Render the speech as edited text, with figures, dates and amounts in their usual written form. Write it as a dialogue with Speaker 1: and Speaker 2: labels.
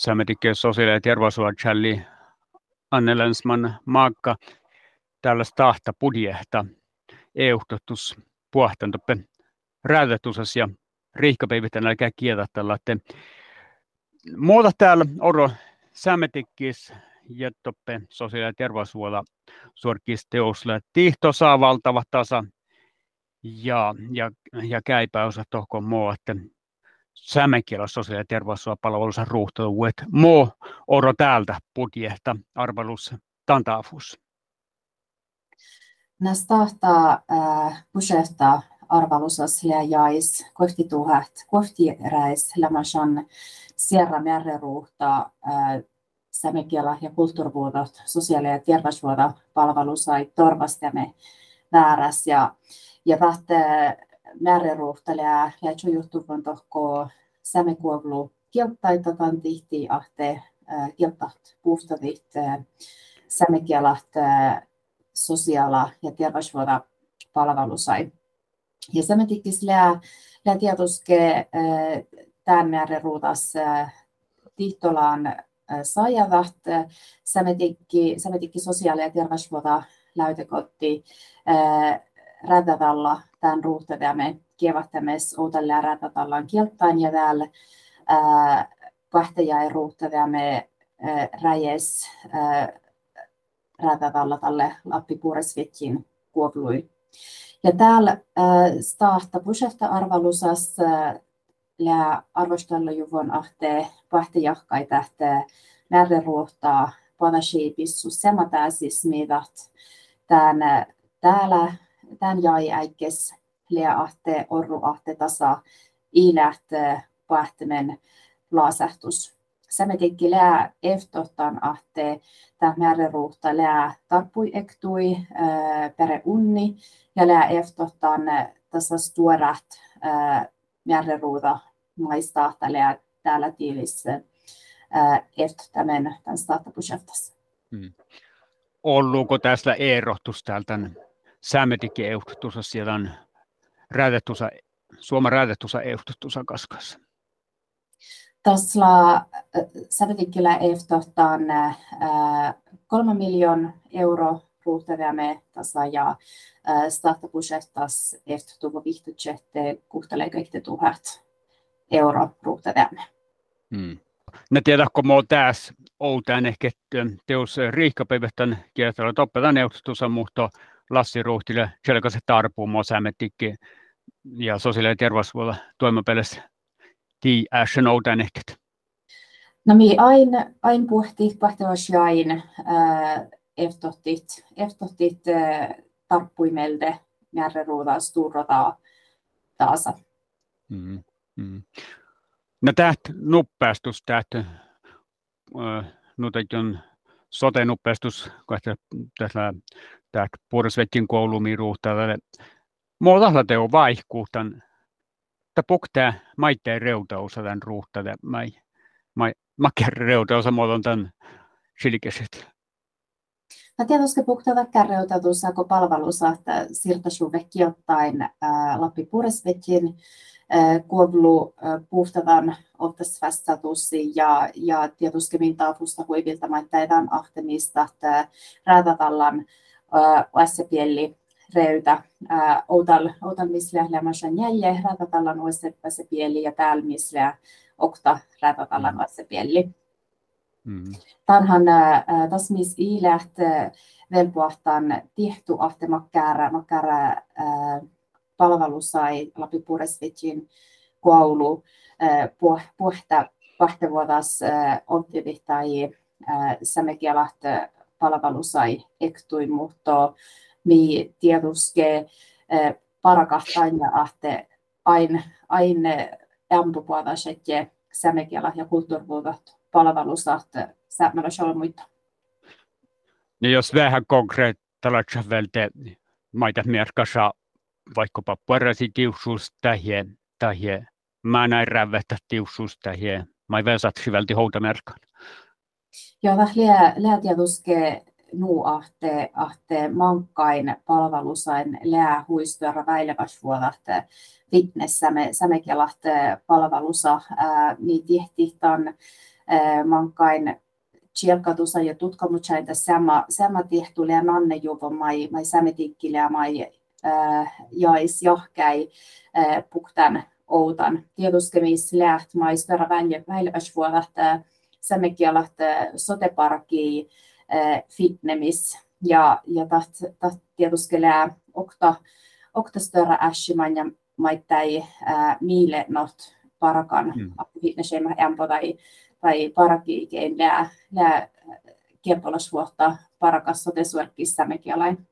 Speaker 1: Sämetikin sosiaali- ja terveysvaltsalli Anne Länsman maakka tällaista tahta budjehta EU-totus puhtantoppe räätätusas ja riihkapäivitän älkää kieltä tällä, että muuta täällä oro sämetikkis ja toppe sosiaali- ja terveyshuolta suorkis teosle tihto saa valtava tasa ja käypäosä tohkon muu, että sämekielä sosiaali- ja terveyspalvelussa ruuhtuuet muu oro täältä budjehta arvelus tantaafus.
Speaker 2: Näistä tahtaa budjehta arvelusas jäis kohti räis lämmäsän sierra määräruuhta sämekielä ja kulttuurivuodot sosiaali- ja terveysvuodot palvelusai torvastamme vääräs ja tahte määräruuhta lää juttuvon tohko sämekuovlu kieltaitataan tihti ahte kieltaht puhtavit sämekielat sosiaala- ja terveysvuoda palvelusai. Ja sämetikkis lää tietoske tämän määräruutas tihtolaan saajavat sämetikki sosiaali- ja terveysvuoda läytekotti räätätalla tämän ruuhtaväämme kievattames outalle räätätallaan kieltain ja täällä kahtajai ruuhtaväämme räjes räätätalla tälle Lappi-Puoresvetjin kuovlui. Ja täällä stahta budjetta arvalusas lää arvostella juvon ahte pahtejahkai tähte määräruuhtaa panashiipissu sematäsis miidat tän jäi äikes lää ahte orru ahte tasa iilät pahtimen laasähtus. Sämetikki lää eftohtan ahte tämä määräruuhta lää tarppui ektui pere unni ja lää eftohtan tasa stuorat määräruuta maistahta lää täällä tiilissä eftohtamen tämän startapusjeftas.
Speaker 1: Olluuko tästä erotus täältä sämetikki ehdotusa siellä on räätetusa Suomen räätetusa ehdotusa kaskassa?
Speaker 2: Tässä sämetikkillä ehdotetaan 3 miljoonaa euroa ruuhtaväämme tasa ja startapusjettas ehdotuva vihtutjette 6,000 euroa ruuhtaväämme.
Speaker 1: Ne tiedätkö muu tässä outaan ehkä teos riihkapäivähtän kiertällä toppetan ehdotusa muhto Lassi Ruuhtille selkäse tarpuu muu sämetikki ja sosiaali- ja terveyshuolta toimapelissä. Tii äsken outaan ehkä.
Speaker 2: No mi ain pahtavas jain eftohtit tarppuimelde määräruuta sturrota taasa.
Speaker 1: No täht nuppeastus nyt on sote-nuppeastus tässä Puoresvettin koulumiin ruuhtaa. Muutalla teo vaihkuutan. Tämä puhtaa maitteen reutausa tämän ruuhtaa. Makkeen reutausa muoton tämän silkeset.
Speaker 2: No tietysti puhtaa väkkään reutautussa, kun palvelussa, että siirtäisuvekki ottaen Lappi-Puoresvettin kuovlu puhtavan ottasvastatussi ja tietysti mintaafusta huivilta maitteidaan ahtemista, että räätätallan oessapielli reuta outal misle lämmäsän jälle räätätallan oessapielli ja täällä misle okta räätätallan oessapielli. Tanhan tässä mis iilät velpoahtan tihtu ahte makkäära palvelusai Lappi-Puoresvettin koulu pahtevuotas optivit tai sämekielat palvelusai ektui, mutta mi tietuske parakahtain ja ahte ain ampupuotas, että sämekiela ja kulttuurivuodot palvelusat sämmälässä olla muita.
Speaker 1: Ja jos vähän konkreettisesti välttä maita merkassa vaikkapa parasi tiusuus tähie, mä näin rävättä tiusuus tähie, mä vesat syvälti houtamerkan.
Speaker 2: Joo, lää tietuske nuu ahte mankkain palvelusain lää huistuera väileväsvuodat fitness sämekielat palvelusa, niin tihti tämän mankain tjelkatusa ja tutkamuchaita sama tehtulia ja nannejuvo mai sämetikkilä mai jais johkäi puktan outan. Tietuskemis läht mai störa välväsvuolat sämmekialat soteparki fitnemis ja taht tietuskelää okta störa äshiman ja maittai miile not parakan fitnessema ämpö tai parakiikein lää kiempolasvuotta parakas sotesuorkissa sämmekialain.